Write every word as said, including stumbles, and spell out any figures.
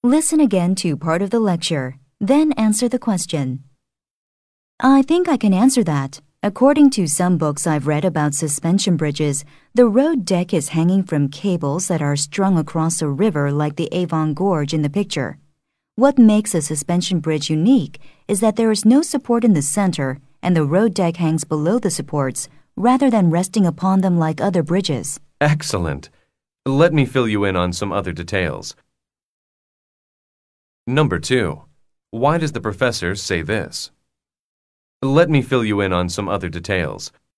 Listen again to part of the lecture, then answer the question. I think I can answer that. According to some books I've read about suspension bridges, the road deck is hanging from cables that are strung across a river like the Avon Gorge in the picture. What makes a suspension bridge unique is that there is no support in the center and the road deck hangs below the supports rather than resting upon them like other bridges. Excellent. Let me fill you in on some other details. Number two. Why does the professor say this? Let me fill you in on some other details.